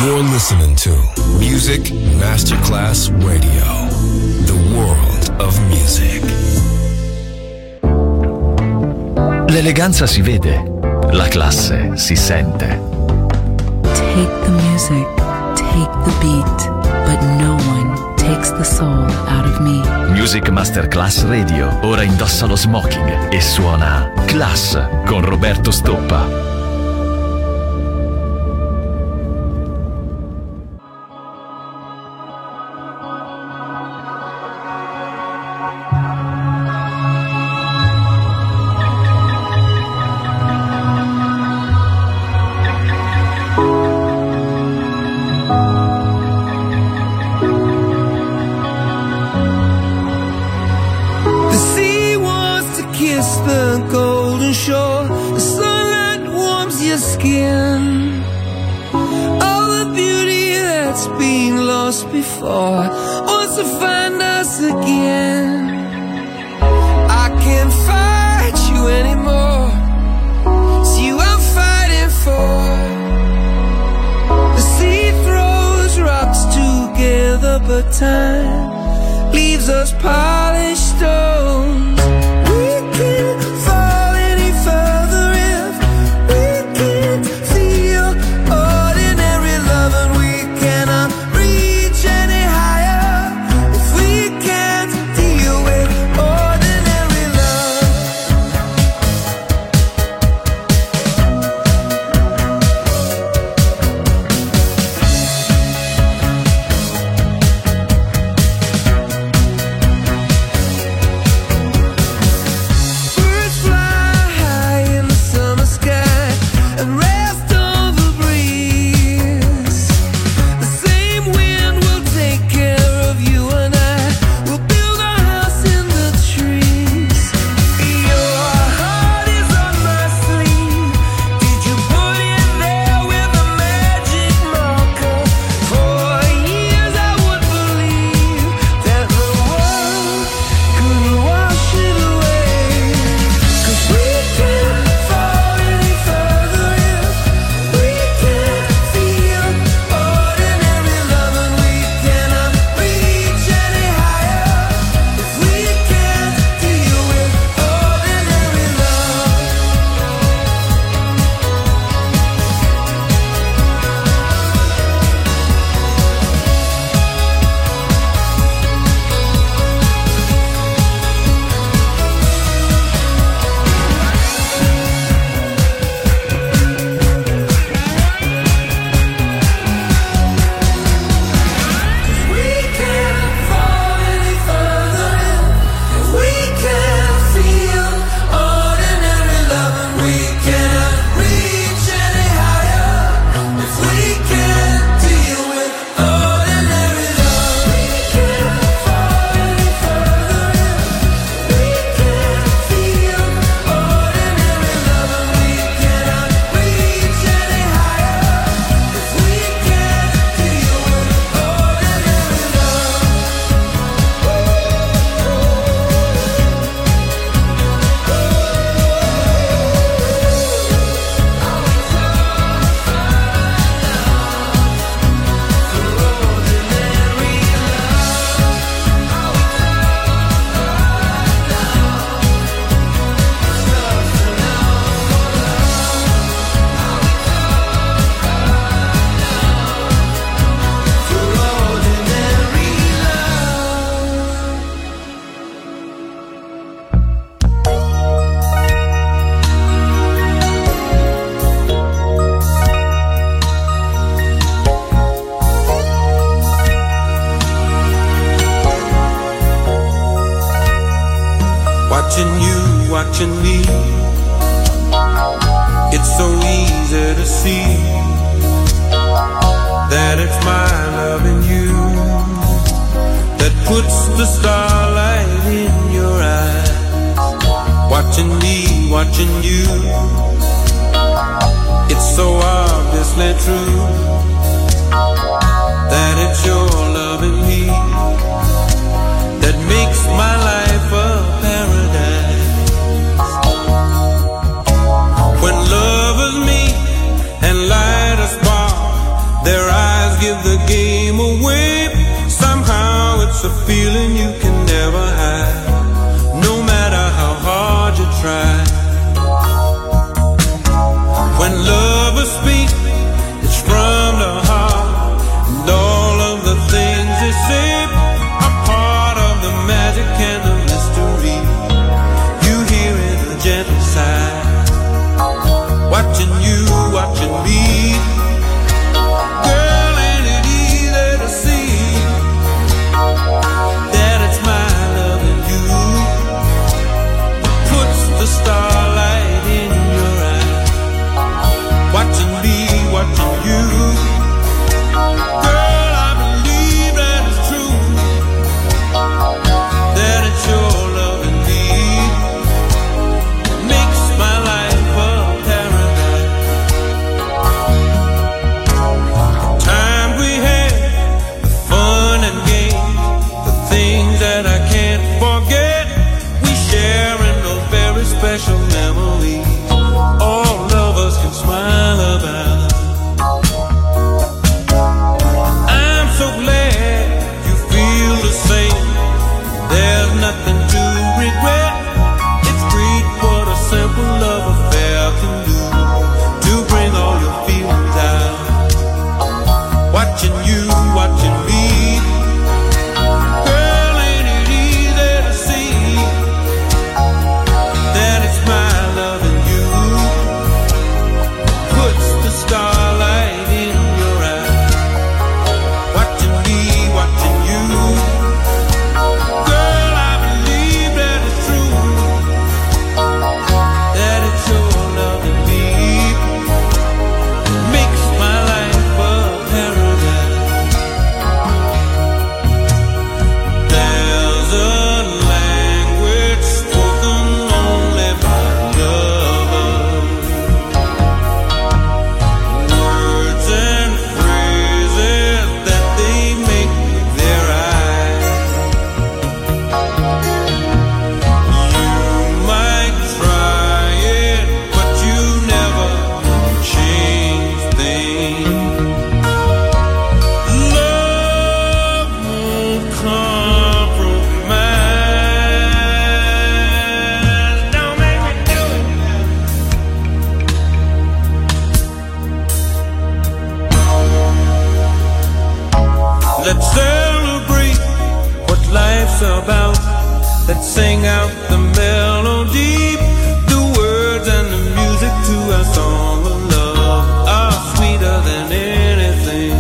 You're listening to Music Masterclass Radio, the world of music. L'eleganza si vede, la classe si sente. Take the music, take the beat, but no one takes the soul out of me. Music Masterclass Radio ora indossa lo smoking e suona Class con Roberto Stoppa. Time leaves us polished stones. We can't fall any further if we can't feel ordinary love, and we cannot reach any higher if we can't deal with ordinary love. Watching you, watching me, it's so easy to see that it's my loving you that puts the starlight in your eyes. Watching me, watching you, it's so obviously true that it's your loving me that makes my life a paradise. When lovers meet and light a spark, their eyes it's a feeling you can never hide, no matter how hard you try. When lovers speak, it's from the heart, and all of the things they say are part of the magic and the mystery. You hear it, a gentle sigh, watching you, watching me. Girl, ain't it easy to see that it's my loving you puts the starlight in your eyes, watching me, watching you. Girl, I believe that it's true, that it's your loving me makes my life a paradise. Time we had, the fun and games, the things that I can't forget, we share in those very special memories all of us can smile about. I'm so glad you feel the same. There's nothing to regret. It's great what a simple love affair can do to bring all your feelings out. Watching you, watching me. Girl, ain't it easy to see that it's my loving you puts the starlight in your eyes, watching me, watching you. Girl, I believe that it's true, that it's your loving me makes my life a paradise. There's a language spoken only by lovers, words and phrases that they make with their eyes. You might try it, but you never change things. Love won't compromise. Don't make me do it. Let's celebrate what life's about. Let's sing out the melody. The words and the music to our song of love are sweeter than anything.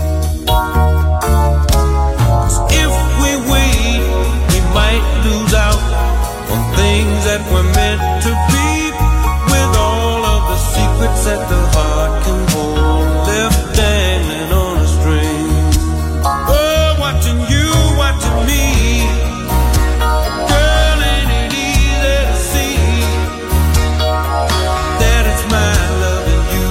'Cause if we wait, we might lose out on things that were meant to be, with all of the secrets that the heart can hold left dangling on a string. Oh, watching you, watching me. Girl, ain't it easy to see that it's my loving you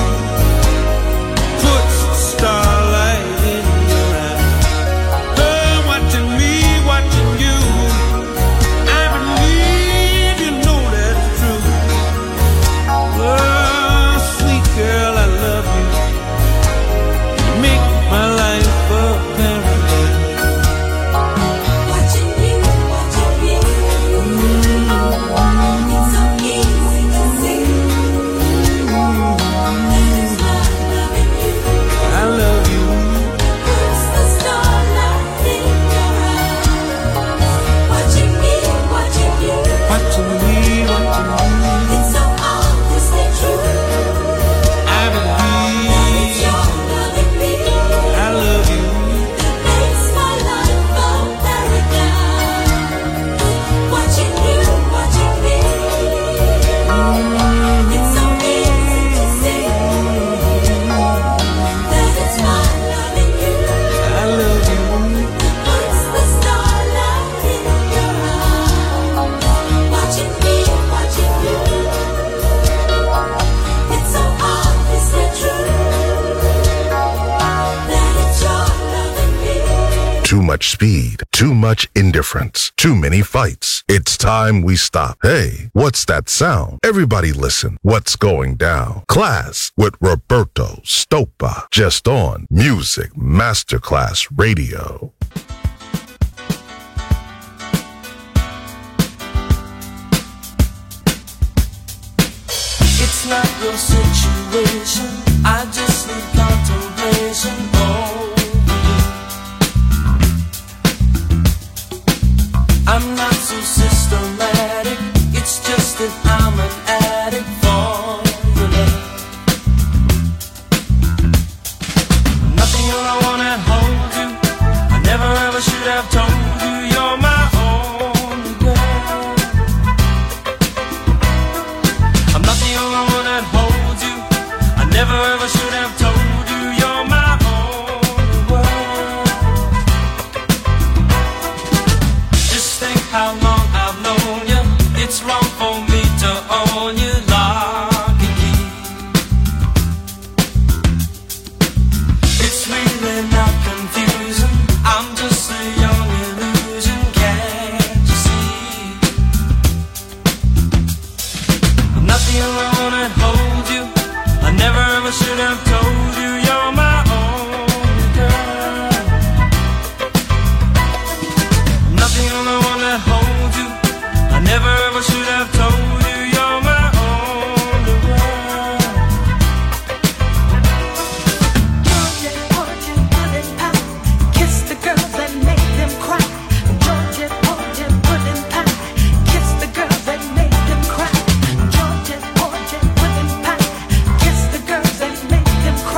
puts the starlight in your eyes. Oh, watching me, watching you. I believe you know that's true. Oh, sweet girl, I love you. You make my life a paradise. Watching you, watching you. It's so easy to see that it's my loving you I love you. puts the starlight in your eyes. Watching me, watching you. Watching me, watching you. It's so obviously true I that it's believe your loving me I love you. that makes my life a paradise. Watching you, watching me. It's so easy to see that it's my loving you I love you. puts the starlight in your eyes. Watching me, watching you. It's so obviously true that it's your loving me. Too much speed, too much indifference, too many fights. It's time we stop. Hey, what's that sound? Everybody listen. What's going down? Class with Roberto Stoppa. Just on Music Masterclass Radio. not your situation. I just need contemplation over you. I'm not so systematic. It's just that I'm an addict for your love. Nothing all I wanna hold you. I never ever should have told you you're my only girl. I'm not the only one that holds you. I never ever should have told you you're my only world. Just think how long I've known you. It's wrong for me to own you lock and key. It's really not confusing. I'm just a young illusion, can't you see? I'm not the only one that holds you. I never ever should have told you you're my only girl. I'm not the only one that holds you. I never ever should have told you you're my only world. Georgia, Georgia, put it out. Kiss the girls and make them cry. Georgia, Georgia, put it out. Kiss the girls and make them cry. Georgia, Georgia, put it out. Kiss the girls and make them cry.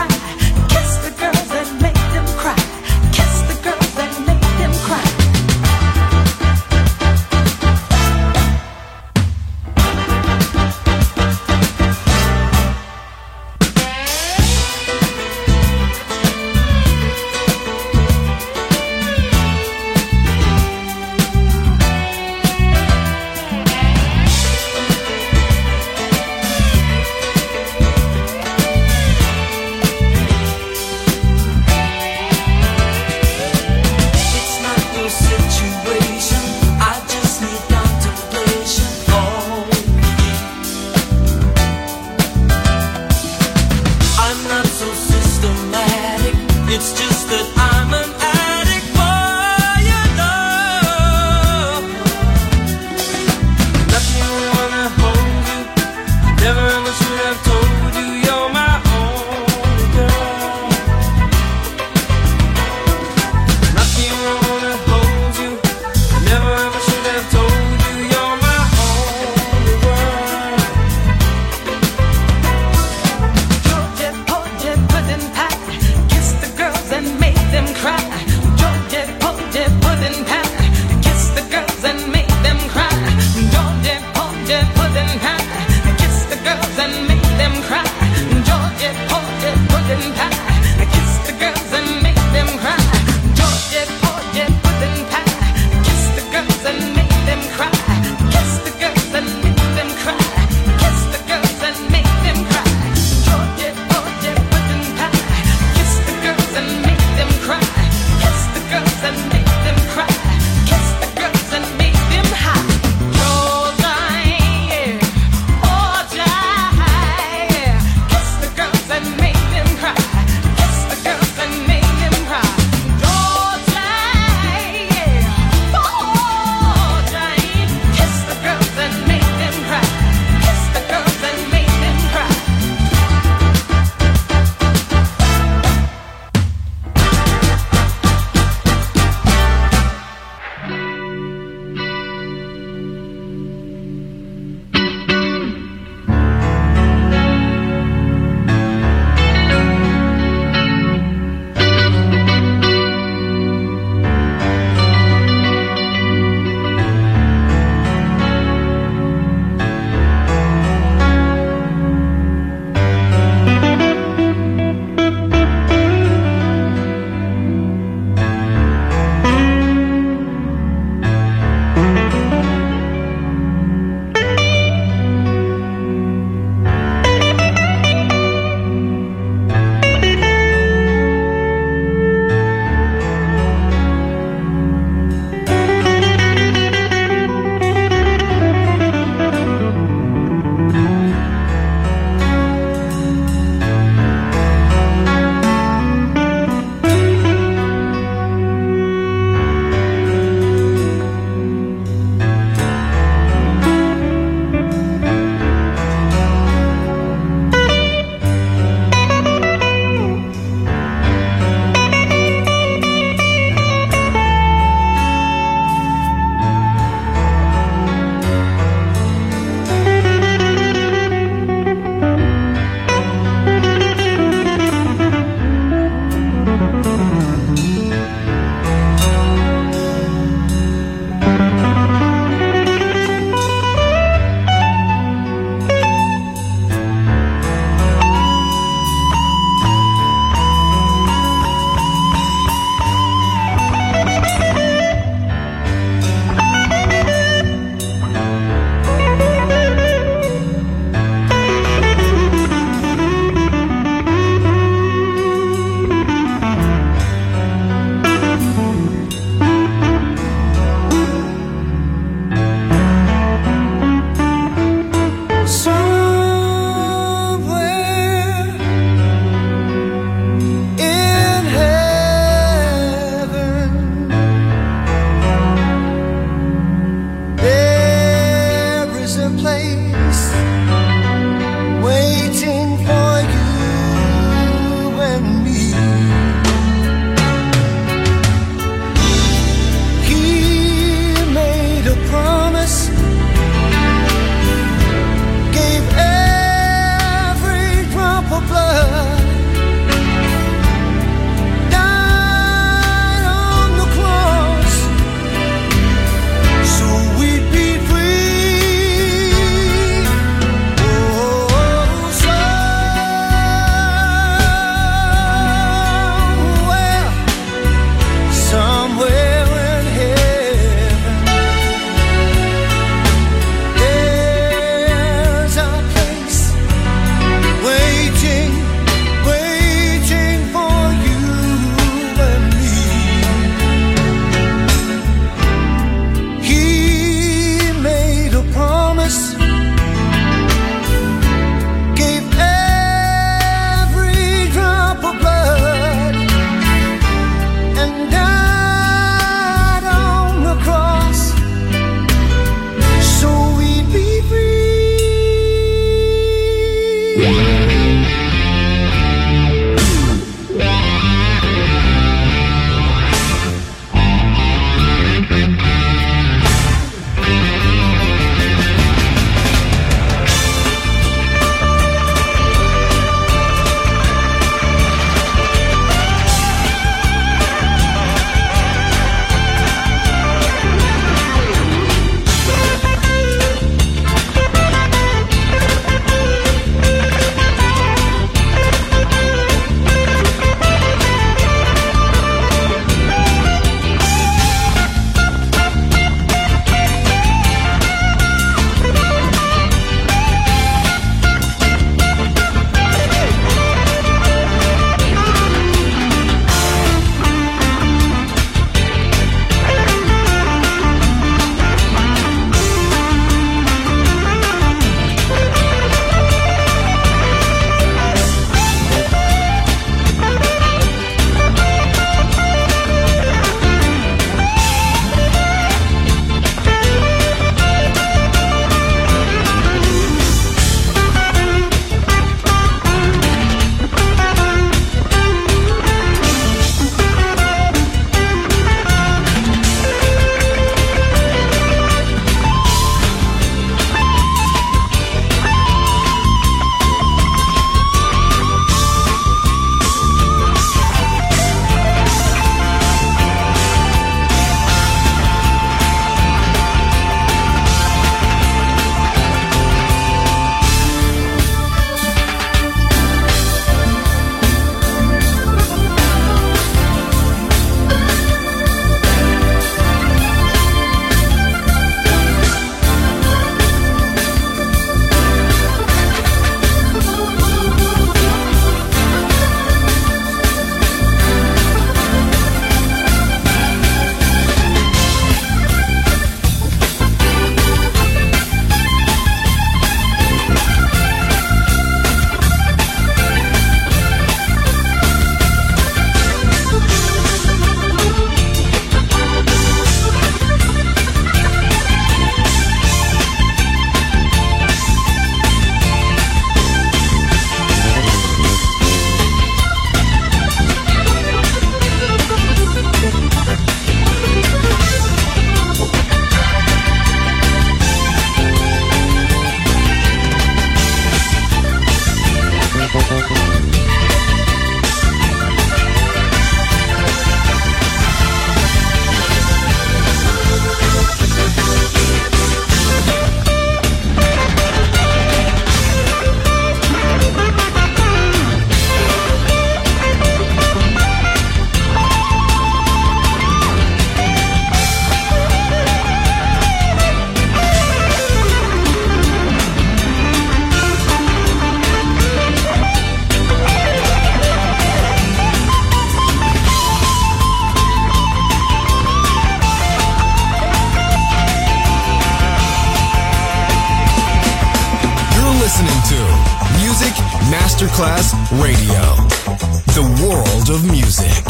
Masterclass Radio, the world of music.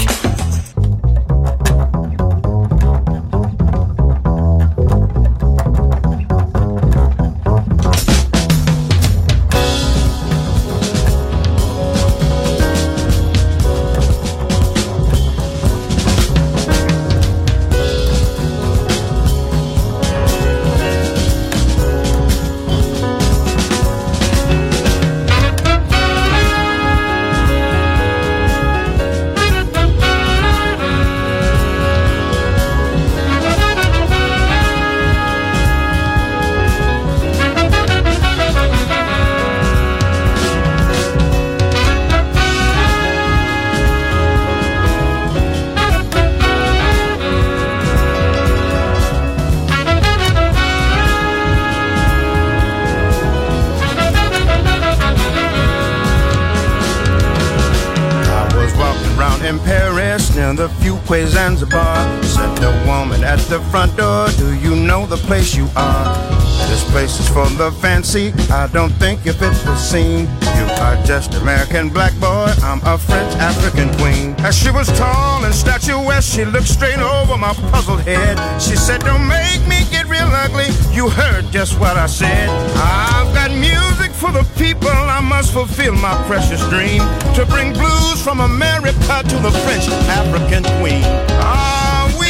Zanzibar, said the woman at the front door, do you know the place you are? This place is for the fancy, I don't think you fit the scene. You are just American black boy, I'm a French African queen. As she was tall and statuesque, she looked straight over my puzzled head. She said, don't make me get real ugly, you heard just what I said. I've got music for the people, I must fulfill my precious dream, to bring blues from America to the French African queen. Ah, oui,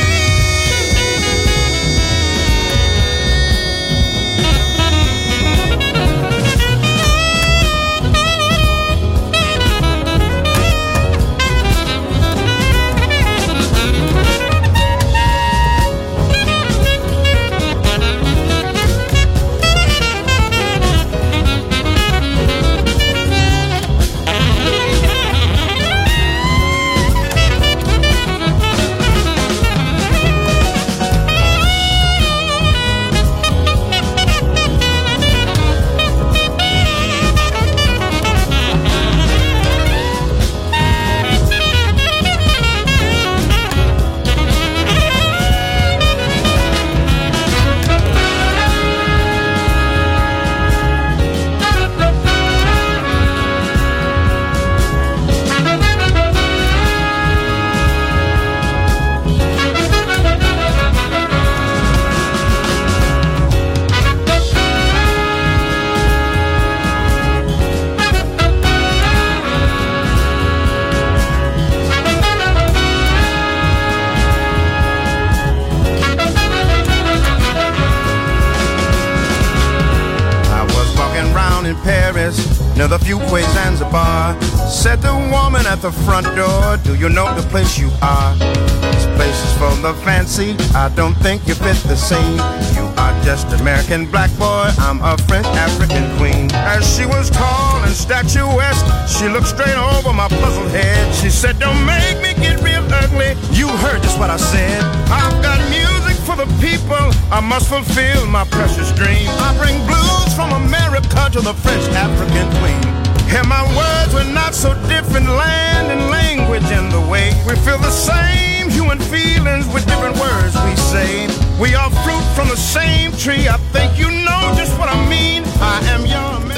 the Fuquay Zanzibar, said the woman at the front door, do you know the place you are? This place is for the fancy, I don't think you fit the scene. You are just American black boy, I'm a French African queen. As she was tall and statuesque, she looked straight over my puzzled head. She said, don't make me get real ugly, you heard just what I said. I've got music for the people, I must fulfill my precious dream. I bring blues from America to the French African queen. Hear my words, we're not so different, land and language and the way we feel the same human feelings with different words we say. We are fruit from the same tree, I think you know just what I mean. I am your man.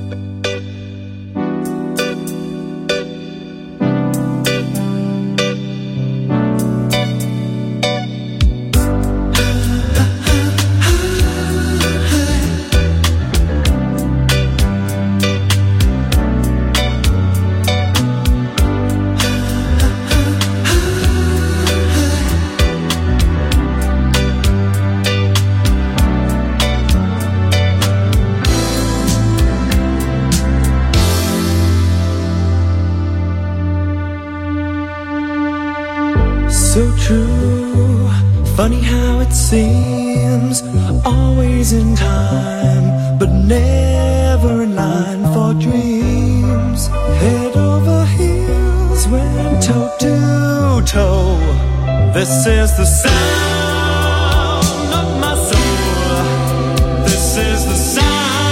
So true, funny how it seems, always in time, but never in line for dreams. Head over heels, went toe to toe. This is the sound of my soul. This is the sound.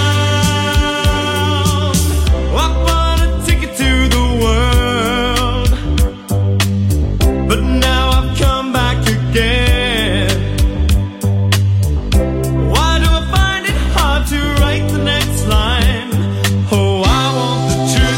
I bought a ticket to the world, but now I've come back again. Why do I find it hard to write the next line? Oh, I want the truth.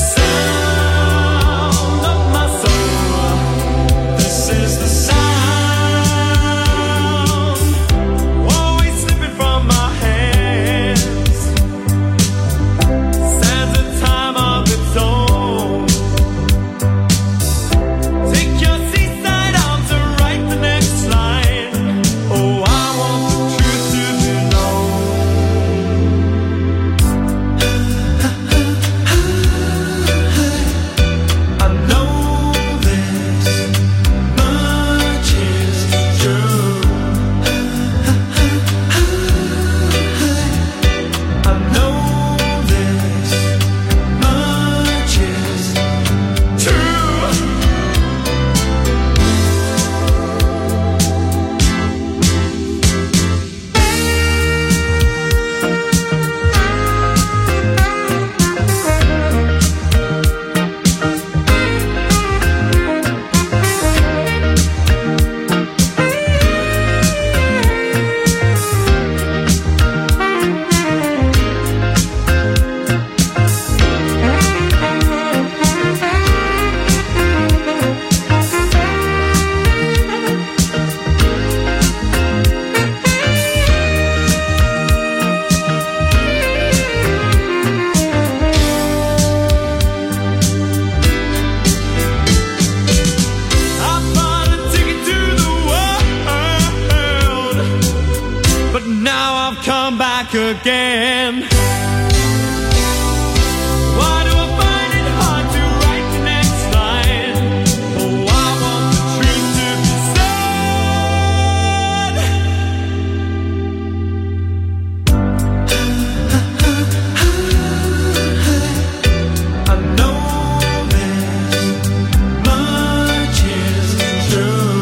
again. Why do I find it hard to write the next line? Oh, I want the truth to be said. I know this much is true.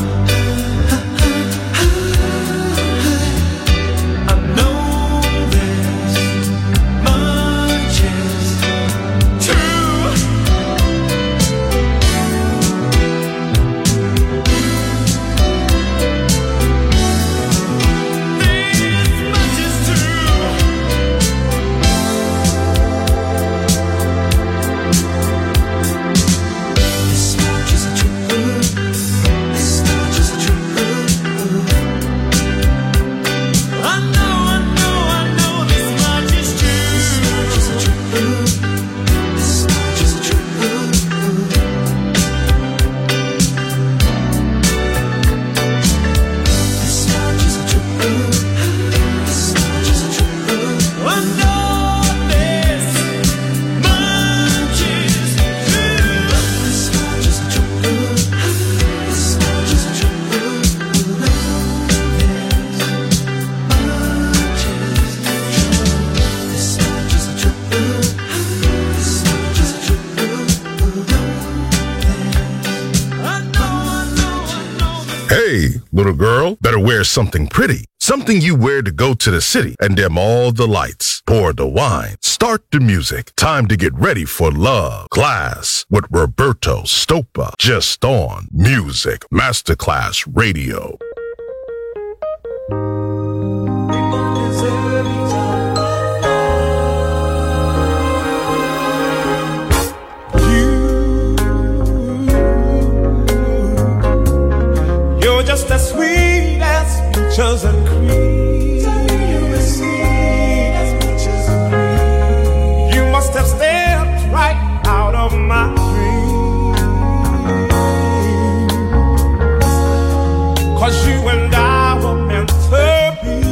Hey, little girl, better wear something pretty. Something you wear to go to the city and dim all the lights. Pour the wine. Start the music. Time to get ready for love. Class with Roberto Stoppa. Just on Music Masterclass Radio. Just as sweet as peaches and cream. You're as sweet as peaches and cream. You must have stepped right out of my dream. 'Cause you and I were meant to be.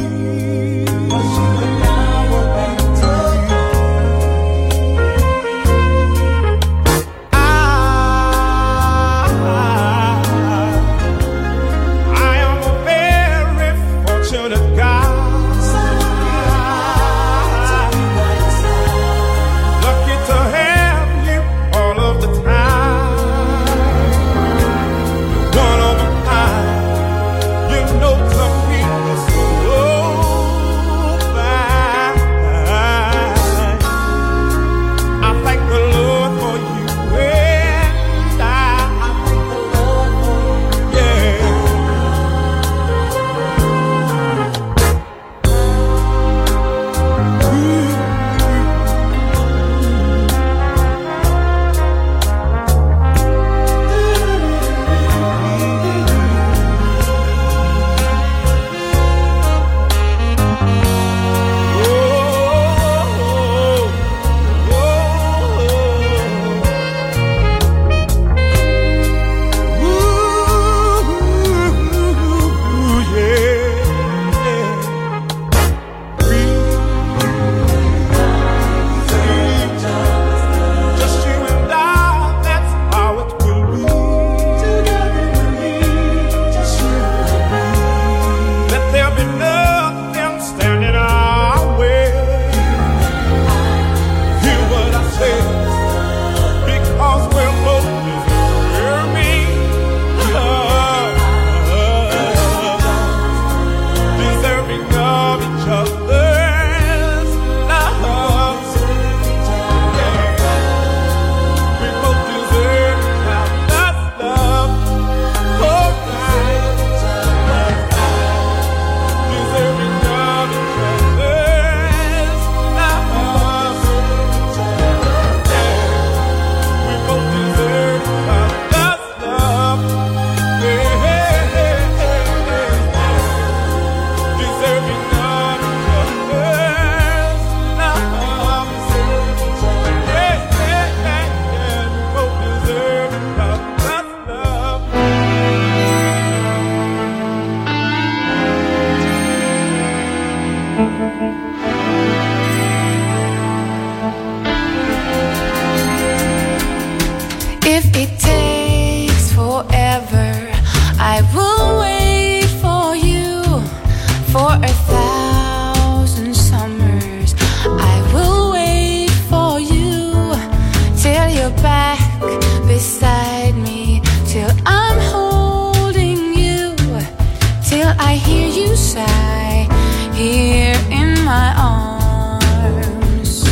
it takes forever, I will wait for you. For 1,000 summers, I will wait for you. Till you're back beside me, till I'm holding you, till I hear you sigh here in my arms.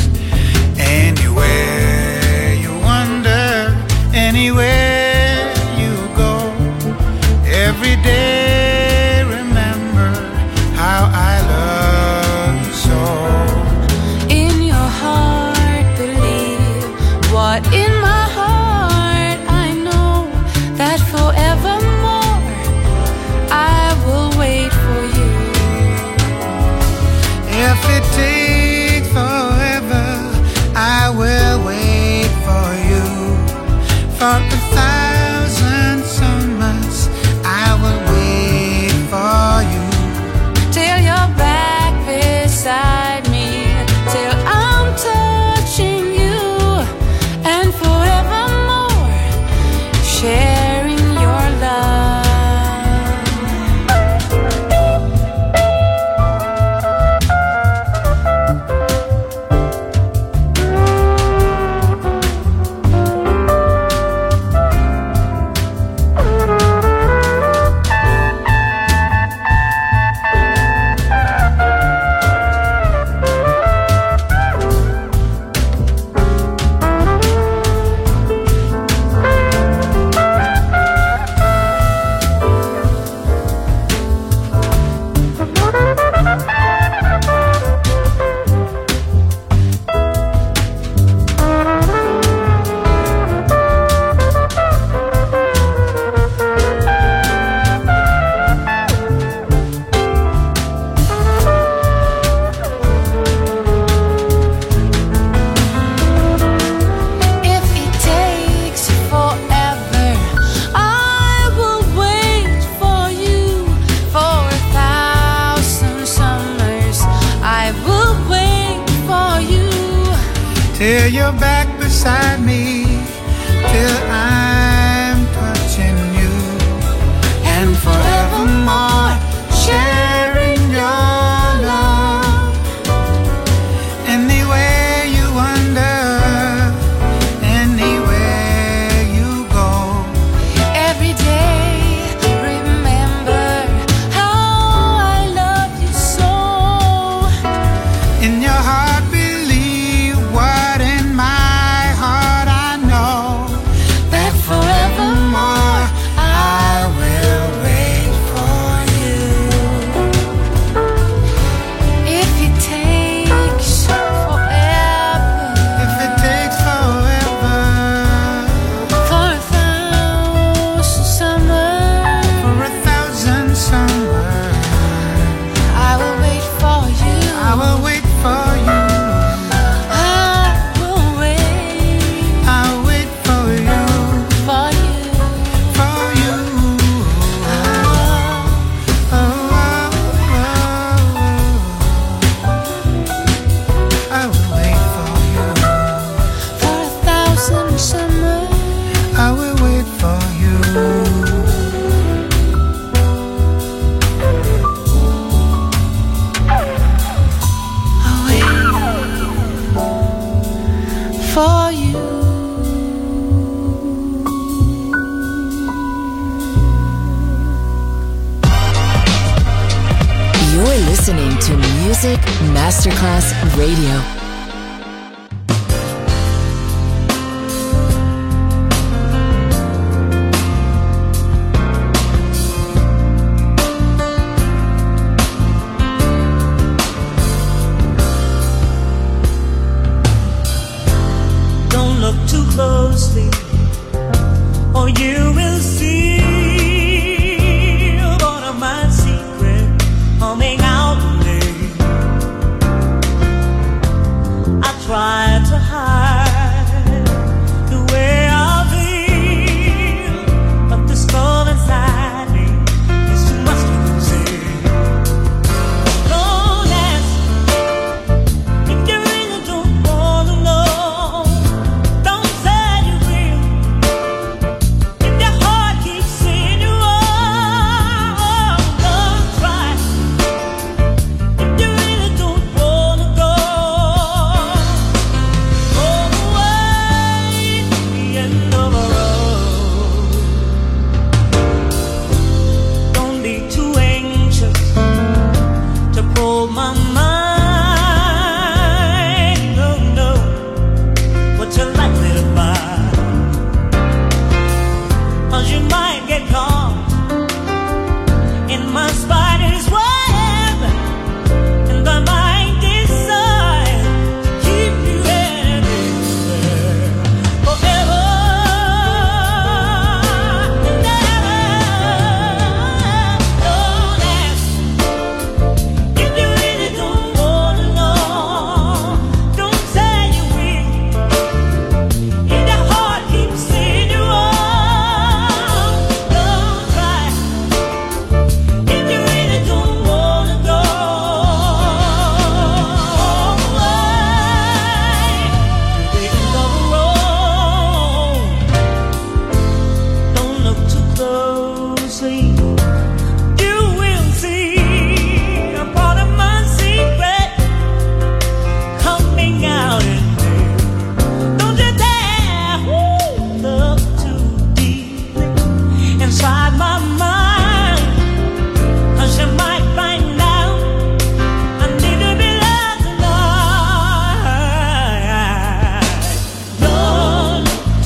Anywhere you wander, anywhere you go, every day remember how I love you so. In your heart believe what in my heart I know, that forevermore I will wait for you. If it takes forever, I will wait for you. For 1,000 summers, I will wait for you. Till you're back beside me, till I'm touching you, and forevermore sharing your love. Till you're back beside me, till I'm touching you, and forevermore sharing your love. Anywhere you wander, anywhere you go, Every day remember how I love you so. in your heart believe what in my heart I know, that forevermore I will wait for you. If it takes forever, If it takes forever, for 1,000 summers, for 1,000 summers, I will wait for you. I will wait for you. I will wait I'll wait for you, for you. for you. Oh, oh, oh. I will wait for you. For 1,000 summers, I will wait for you. I'll wait for you. You're listening to Music Masterclass Radio. Don't look too closely, or you will see one of my secrets coming out today. I try to hide the way I feel, but the storm inside me is too much to say. Don't ask if you really don't wanna know. Don't say you will.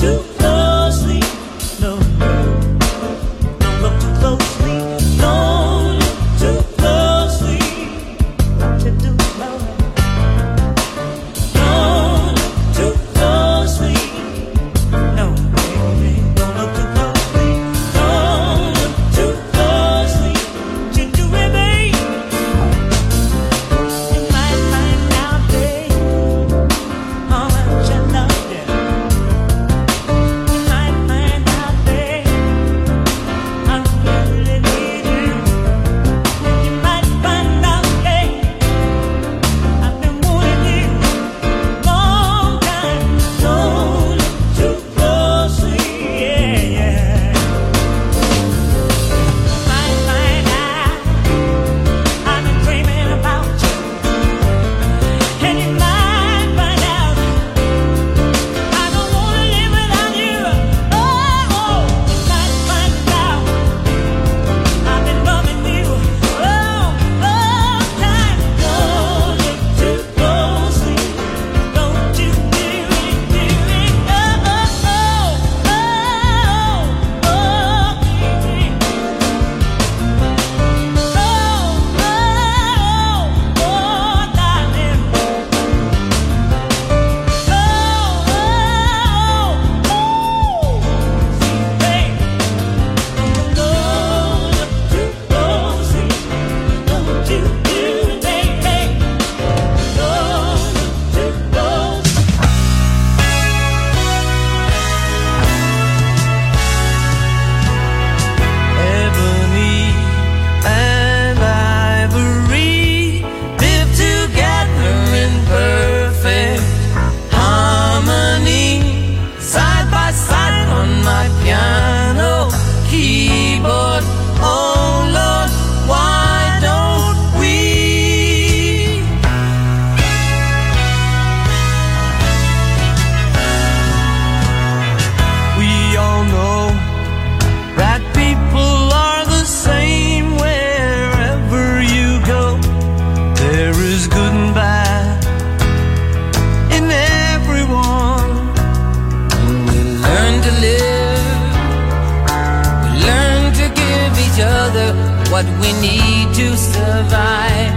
what we need to survive.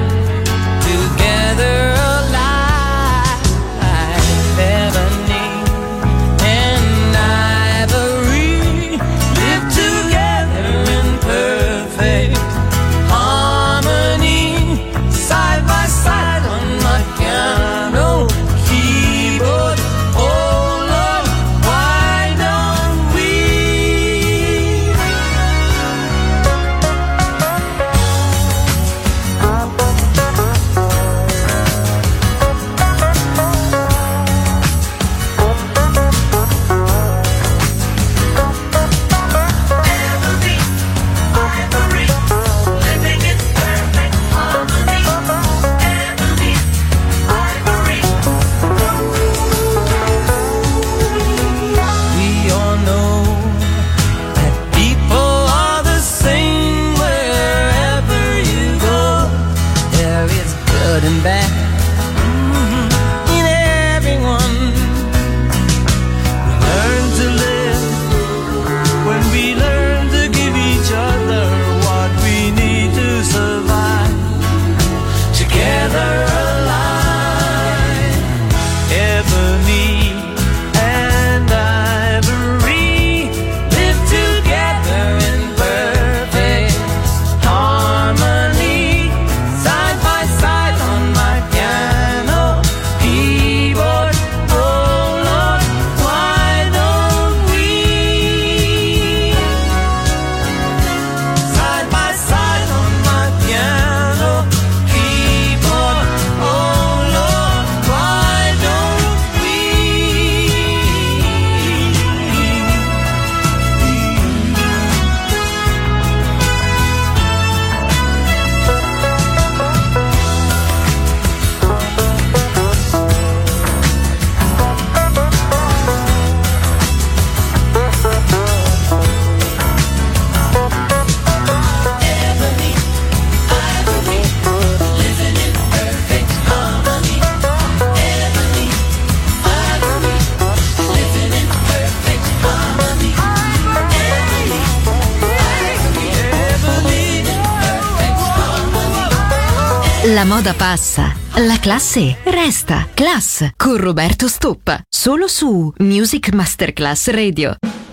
Together alive, Ebony and Ivory live together in perfect harmony, side by side on my piano keyboard. Oh Lord, why don't we? La moda passa, la classe resta. Class con Roberto Stoppa, solo su Music Masterclass Radio.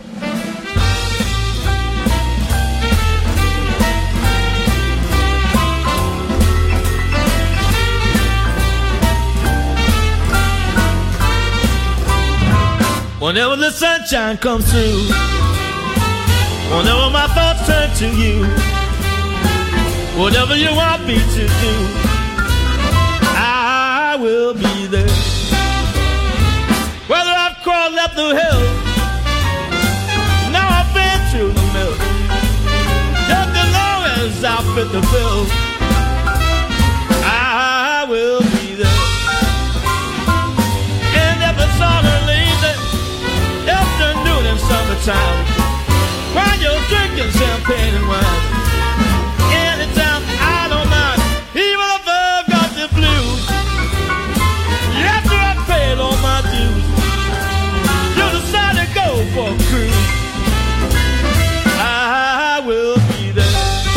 Whenever the sunshine comes through, whenever my thoughts turn to you, whatever you want me to do, I will be there. Whether I've crawled up the hill, now I've been through the mill, just as long as I fit the bill, I will be there. And if it's on a lazy afternoon in summertime, while you're drinking champagne and wine, anytime I don't mind, even if I've got the blues, after I've paid all my dues, you decide to go for a cruise, I will be there.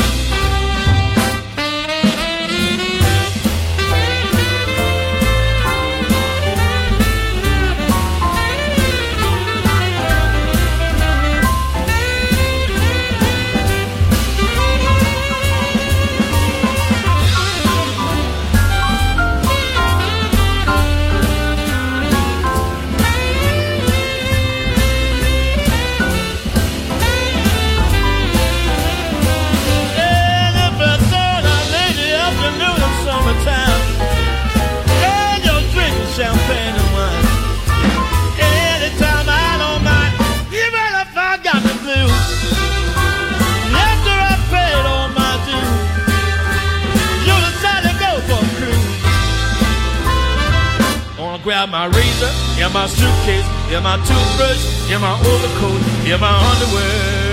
Champagne and wine. Anytime I don't mind, even if I got the blues. After I've paid all my dues, you decide to go for a cruise. I wanna grab my razor, and my suitcase, and my toothbrush, and my overcoat, and my underwear.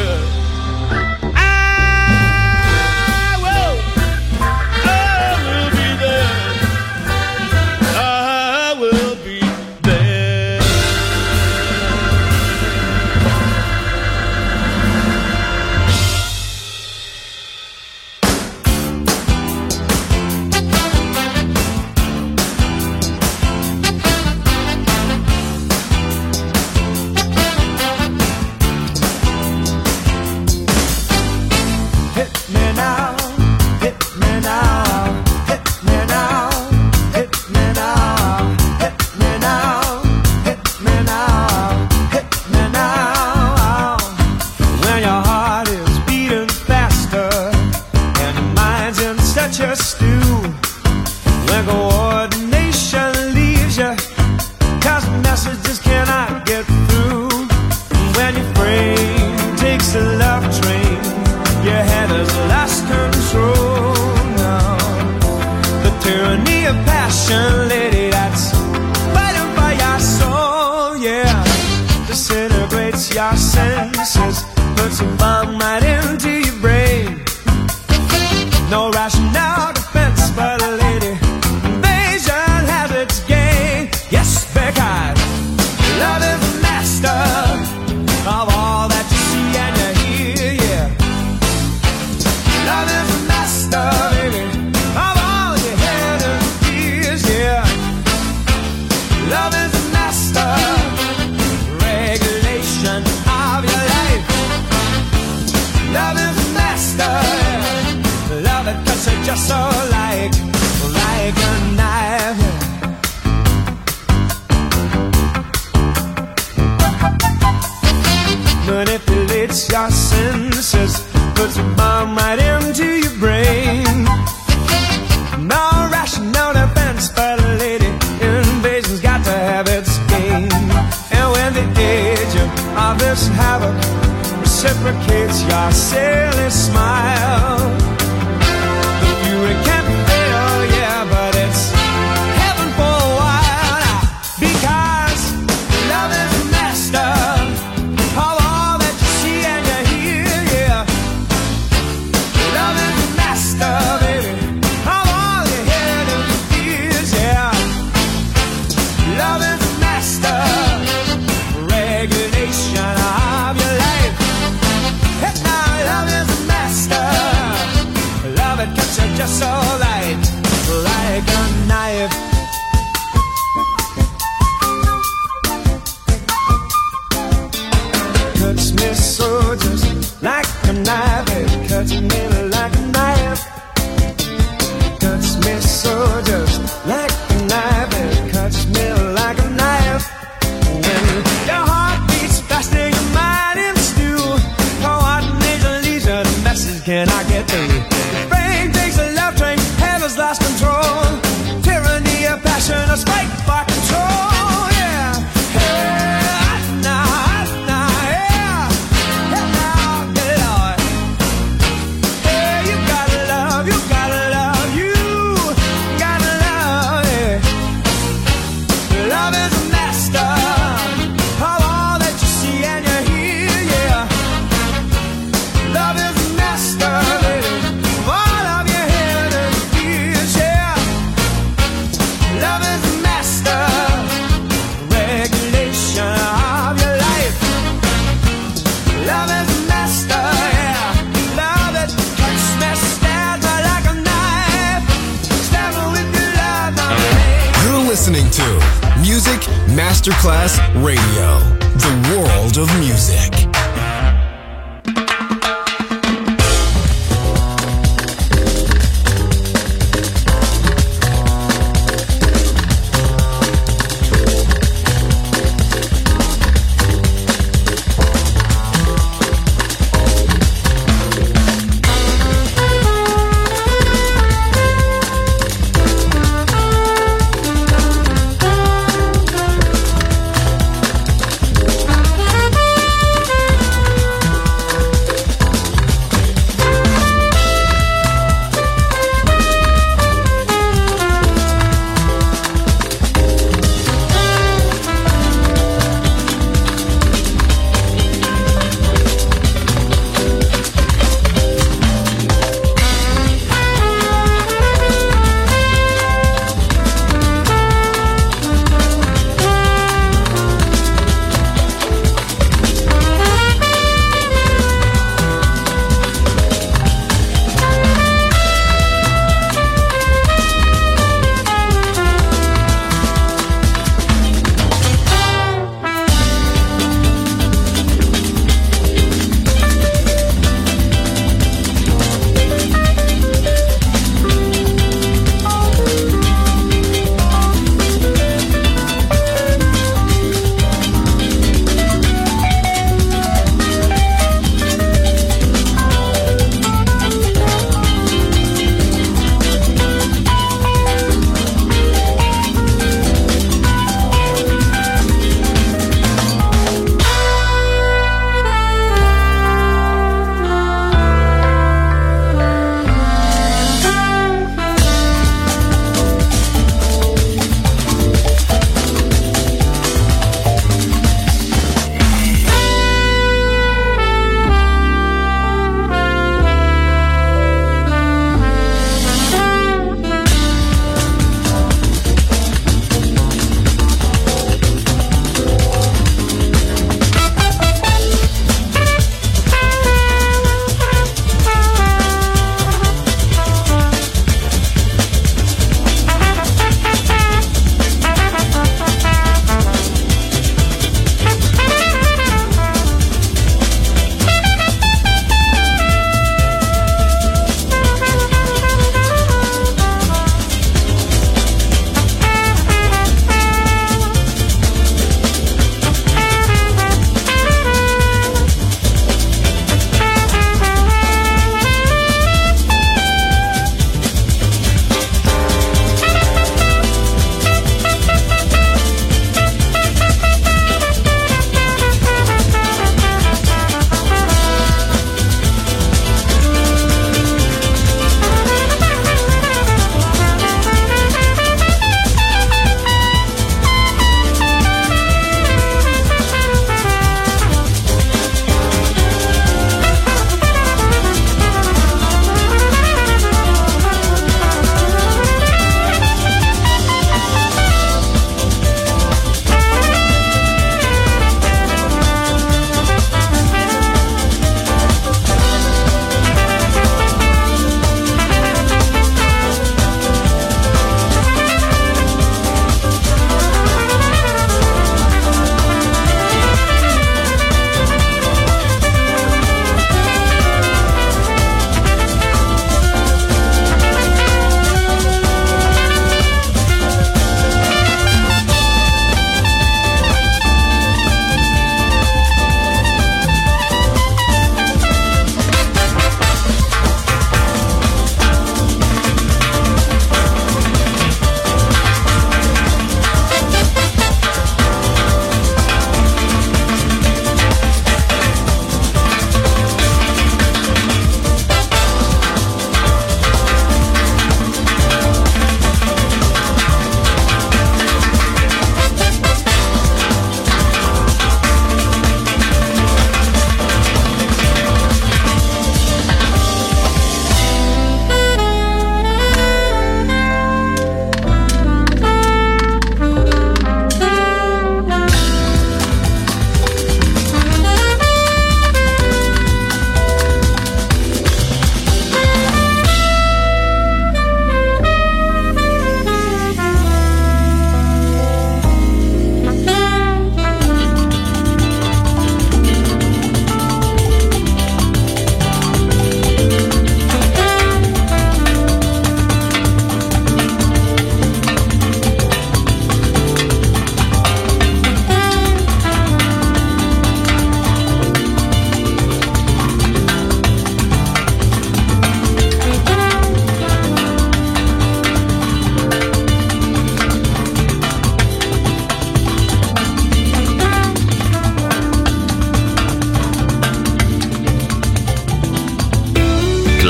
Reciprocates your silly smile. The fury can't fail, yeah, but it's heaven for a while. Because love is the master of all that you see and you hear, yeah. Love is the master, baby, of all your head and your fears, yeah. Love is the master, regulation of your life. Love is the master. cuts me so just like a knife. It cuts me like a knife. Cuts me so just like a knife. It cuts me like a knife. When your heart beats faster, your mind in stew. Oh, what major leisure message can I get through? The brain takes a left train, heaven's lost control. Tyranny of passion, a spike by control. Listening to Music Masterclass Radio, the world of music.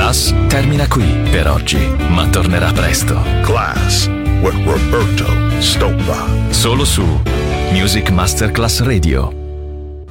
Class termina qui per oggi, ma tornerà presto. Class with Roberto Stoppa. Solo su Music Masterclass Radio.